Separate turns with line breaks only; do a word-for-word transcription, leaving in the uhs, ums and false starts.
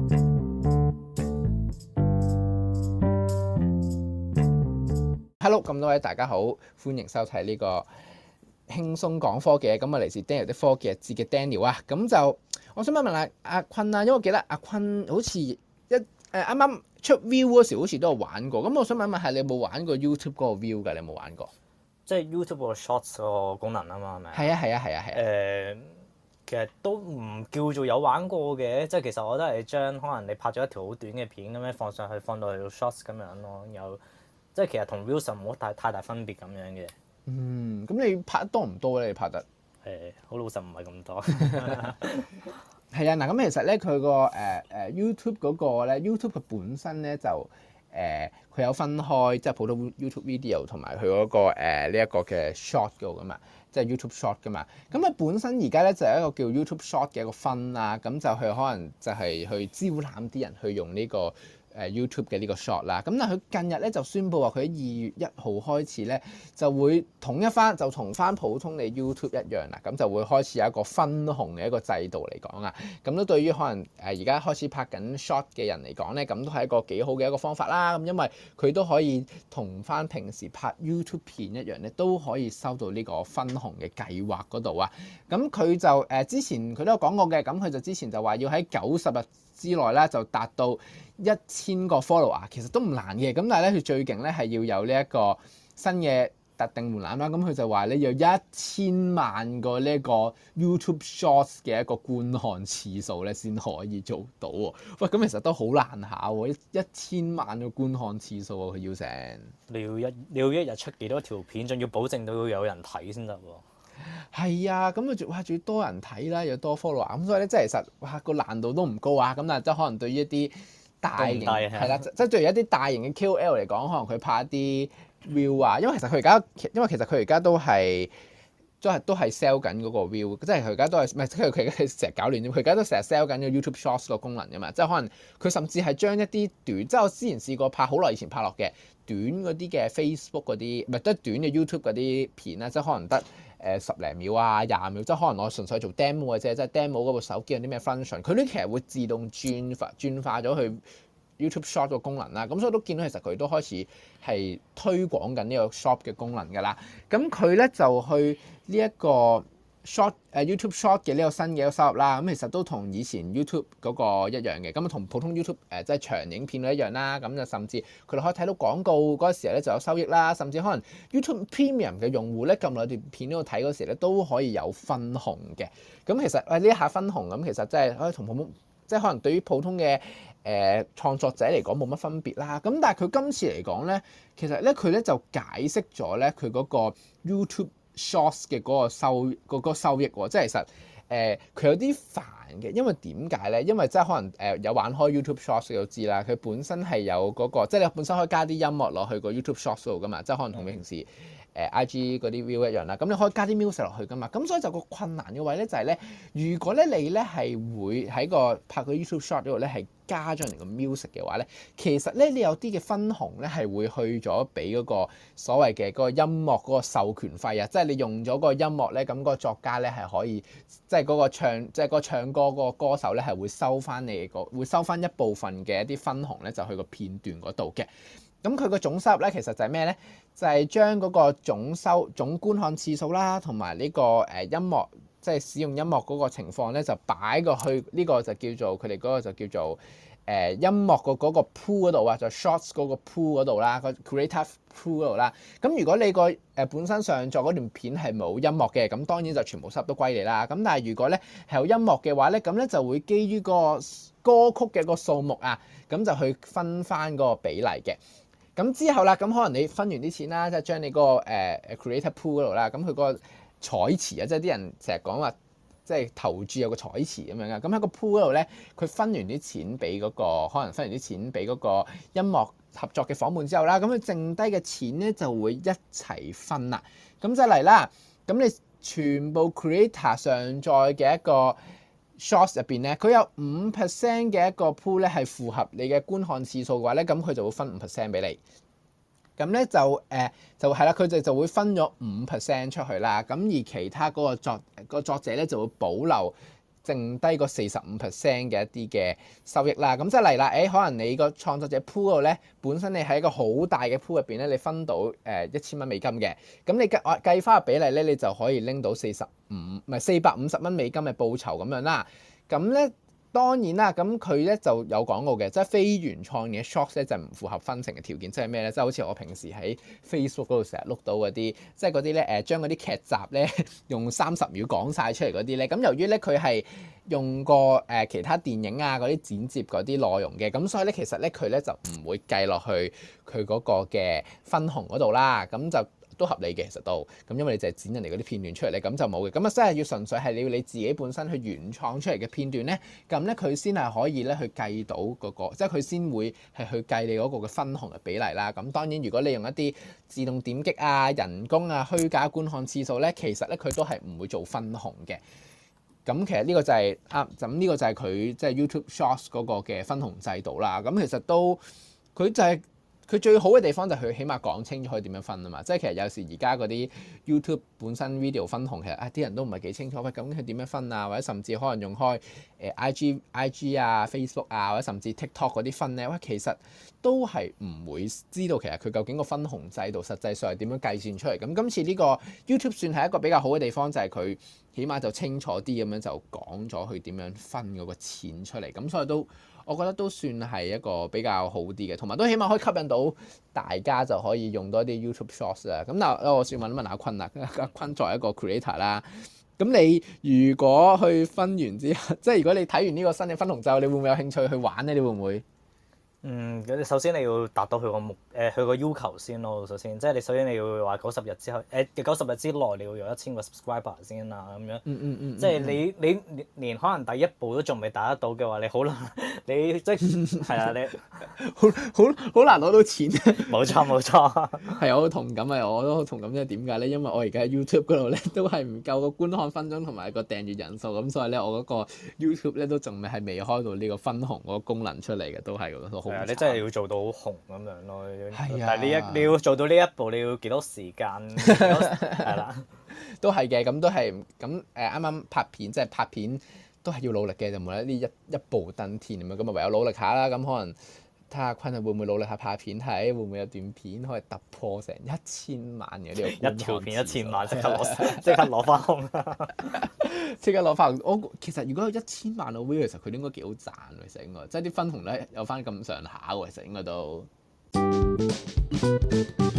Hello，咁多位大家好，歡迎收睇呢個輕鬆講科技。咁啊嚟自 Daniel 的科技日誌嘅 Daniel 啊，咁就我想問問下阿坤啊，因為我記得阿坤好似一誒啱啱出 View 嗰時好似都有玩過，咁我想問問下你有冇玩過 YouTube 嗰個 View 㗎？你有冇玩過？
即係 YouTube 個 Shorts 個功能啊嘛，係咪？
係啊係啊係啊係啊。誒、
呃，其實都唔叫做有玩過嘅，即係其實我都係將可能你拍咗一條好短嘅片咁樣放上去，放到去 Shorts 咁樣咯，有。即係其實同 Reels 冇太太大分別咁樣嘅。
嗯，咁你拍得多唔多咧？你拍得？
誒，好老實唔係咁多。
係啊，嗱咁其實咧佢個誒誒 YouTube 嗰個咧 YouTube 佢本身咧就誒佢、呃、有分開，即係普通 YouTube video 同埋佢嗰個誒呢一個嘅 short 嘅噶嘛，即係 YouTube short 噶嘛。咁啊本身而家咧就係一個叫 YouTube short 嘅一個分啦，咁就佢可能就係去招攬啲人去用呢、這個。誒 YouTube 嘅呢個 short 啦，咁但係佢近日咧就宣布話佢喺二月一號開始咧就會統一翻，就同翻普通嘅 YouTube 一樣啦，咁就會開始有一個分紅嘅一個制度嚟講啊，咁都對於可能誒而家開始拍緊 short 嘅人嚟講咧，咁都係一個幾好嘅一個方法啦。咁因為佢都可以同翻平時拍 YouTube 片一樣咧，都可以收到呢個分紅嘅計劃嗰度啊。咁佢就誒、呃、之前佢都有講過嘅，咁佢就之前就話要喺九十日之內咧就達到一千個 follower，其實都唔難嘅。咁但係咧佢最勁咧係要有呢一個新嘅特定門檻啦。咁佢就話咧要一千萬個呢個 YouTube Shorts 嘅一個觀看次數咧先可以做到喎。喂，咁其實都好難下喎，一一千萬個觀看次數喎，佢要成。你要
一你要一日出幾多條片，仲要保證到有人睇先得喎。
係啊，咁佢仲哇仲要多人睇啦，又多 follower，咁所以咧即係其實哇個難度都唔高啊。咁但係即係可能對於一啲大型係啦，即係對於一啲大型嘅 K O L 嚟講，可能佢拍一啲 view 啊，因為其實佢而家因為其實佢而家都係都係都係 sell 緊嗰個 view，即係佢而家都係唔係佢佢成日搞亂咗，佢而家都成日 sell 緊個 YouTube Shorts 個功能㗎嘛，即係可能佢甚至係將一啲短，即係我之前試過拍好耐以前拍落嘅短嗰啲嘅 Facebook 嗰啲，唔係得短嘅 YouTube 嗰啲片啦，即係可能得。誒十零秒啊，廿秒，即係可能我純粹做 demo 嘅啫，即係 demo 嗰部手機有啲咩 function，佢都其實會自動轉化轉化咗去 YouTube Short 個功能啦。咁所以都見到其實佢都開始係推廣緊呢個 Short 嘅功能㗎啦。咁佢咧就去呢一個 Short 誒 YouTube Short 嘅呢個新嘅一個收入啦。咁其實都同以前 YouTube 嗰個一樣嘅，咁啊同普通 YouTube 誒即係長影片都一樣啦。咁就甚至佢哋可以睇到廣告嗰時候咧就有收益啦。甚至可能 YouTube Premium 嘅用戶咧撳落段片嗰度睇嗰時咧都可以有分紅嘅。咁其實誒呢一下分紅咁其實真係可以同普通即係可能對於普通嘅誒、呃、創作者嚟講冇乜分別啦。咁但係佢今次嚟講咧，其實咧佢咧就解釋咗咧佢嗰個 YouTube Shorts 嘅嗰個收嗰、嗰個收益喎，即係其實誒佢、呃、有啲煩嘅，因為點解咧？因為即係可能誒、呃、有玩開 YouTube Shorts 你都知啦，佢本身係有嗰、嗰個，即係你本身可以加啲音樂落去個 YouTube Shorts 度噶嘛，即係可能同你平時誒、呃、I G 嗰啲 view 一樣啦。咁你可以加啲 music 落去噶嘛，咁所以就個困難嘅位咧就係咧，如果咧你咧係會喺個拍個 YouTube Shorts 度咧係加咗人個 music 嘅話咧，其實咧你有啲嘅分紅咧係會去咗俾嗰個所謂嘅嗰個音樂嗰個授權費啊，即係你用咗個音樂咧，咁、嗰個作家咧係可以，即係嗰個唱，即係嗰個唱歌嗰個歌手咧係會收翻你個，會收翻一部分嘅一啲分紅咧，就去個片段嗰度嘅。咁佢個總收入咧，其實就係咩咧？就係將嗰個總收總觀看次數啦，同埋呢個誒音樂，即係使用音樂嗰個情況咧，就擺過去呢個就叫做佢哋嗰個就叫做誒、呃、音樂個嗰個 pool 嗰度啊，就 Shorts 嗰個 pool 嗰度啦，個 Creator Pool 嗰度啦。咁如果你個誒本身上載嗰段片係冇音樂嘅，咁當然就全部收入都歸你啦。咁但係如果咧係有音樂嘅話咧，咁咧就會基於個歌曲嘅個數目啊，咁就去分翻嗰個比例嘅。咁之後啦，咁可能你分完啲錢啦，即係將你嗰個誒誒 Creator Pool 嗰度啦，咁佢嗰個彩池啊，即係啲人成日講話，即係投注有個彩池咁樣嘅。咁喺個 Pool 嗰度咧，佢分完啲錢俾嗰個，可能分完啲錢俾嗰個音樂合作嘅夥伴之後啦，咁佢剩低嘅錢咧就會一齊分啦。咁就嚟啦，咁你全部 Creator 上載嘅一個 Shorts 入邊咧，佢有五 percent 嘅一個 pool 咧係符合你嘅觀看次數嘅話咧，咁佢就會分五 percent 俾你。咁咧就誒、呃、就係啦，佢哋就會分咗五 percent 出去啦。咁而其他嗰個作、嗰個作者咧就會保留剩低個四十五 percent 嘅一啲嘅收益啦。咁即係嚟啦，誒、欸、可能你個創作者 pool 嗰度咧，本身你喺一個好大嘅 pool 入邊咧，你分到誒一千蚊美金嘅，咁你計計翻個比例咧，你就可以拎到四十五唔係四百五十蚊美金嘅報酬咁樣啦。咁咧。當然啦，咁佢咧就有講過嘅，即係非原創嘅 shorts 咧就唔符合分成嘅條件，即係咩咧？即係好似我平時喺 Facebook 嗰度成日碌到嗰啲，即係嗰啲咧誒將嗰啲劇集咧用三十秒講晒出嚟嗰啲咧。咁由於咧佢係用過誒其他電影啊嗰啲剪接嗰啲內容嘅，咁所以咧其實咧佢咧就唔會計落去佢嗰個嘅分紅嗰度啦。咁就都合理嘅，其實都咁，因為你就係剪人哋嗰啲片段出嚟咧，咁就冇嘅。咁啊，真係要純粹係你要你自己本身去原創出嚟嘅片段咧，咁咧佢先係可以咧去計到嗰、那個，即係佢先會係去計你嗰個嘅分紅嘅比例啦。咁當然，如果你用一啲自動點擊啊、人工啊、虛假觀看次數咧，其實咧佢都係唔會做分紅嘅。咁其實呢個就係、是、啊，咁呢個就係佢即係 YouTube Shorts 嗰個嘅分紅制度啦。咁其實都佢就係、是。佢最好嘅地方就係佢起碼講清楚佢點樣分啊嘛，即係其實有時而家嗰啲 YouTube 本身 video 分紅其實啊啲人都唔係幾清楚，喂，究竟佢點樣分啊？或者甚至可能用開誒 IG、IG 啊、Facebook 啊，或者甚至 TikTok 嗰啲分咧，喂，其實都係唔會知道其實佢究竟個分紅制度實際上係點樣計算出嚟。咁今次呢個 YouTube 算係一個比較好嘅地方，就係佢起碼就清楚啲咁樣就講咗佢點樣分嗰個錢出嚟，咁所以都。我覺得都算係一個比較好啲嘅，同埋都起碼可以吸引到大家就可以用多啲 YouTube Shorts 啦。咁嗱，我先問一問阿坤啦，阿坤作為一個 creator 啦，咁你如果去分完之後，即係如果你睇完呢個新嘅分紅之後，你會唔會有興趣去玩咧？你會唔會？嗯，
咁首先你要達到佢個目誒佢個要求先咯。首先，即係你首先你要話九十日之後誒九十日之內你要有一千個 subscriber 先啦咁樣。嗯嗯嗯。即係你你連，連可能第一步都仲未達得到嘅話，你好難你即係係啊你
好好好難攞到錢。
冇錯冇錯。
係我好同感啊！我都好同感，即係點解咧？因為我而家喺 YouTube 嗰度咧都係唔夠個觀看分鐘同埋個訂閱人數，咁所以咧我嗰個 YouTube 咧都仲未係未開到呢個分紅嗰個功能出嚟嘅，都係都好。係啊，
你真係要做到好紅咁樣咯。
係啊，
但係呢一你要做到呢一步，你要幾多時間？係啦，
都係嘅。咁都係咁誒，啱啱拍片即係拍片都係要努力嘅，就冇得呢一一步登天咁樣。咁啊唯有努力下啦。咁可能睇下坤啊會唔會努力下拍片睇，會唔會有段片可以突破成一千萬嘅呢個？
一條片一千萬，即刻攞即刻攞翻空，
即刻攞翻。我其實如果有一千萬嘅 view，其實佢應該幾好賺喎，其實應該，即係啲分紅咧有翻咁上下喎，其實應該都。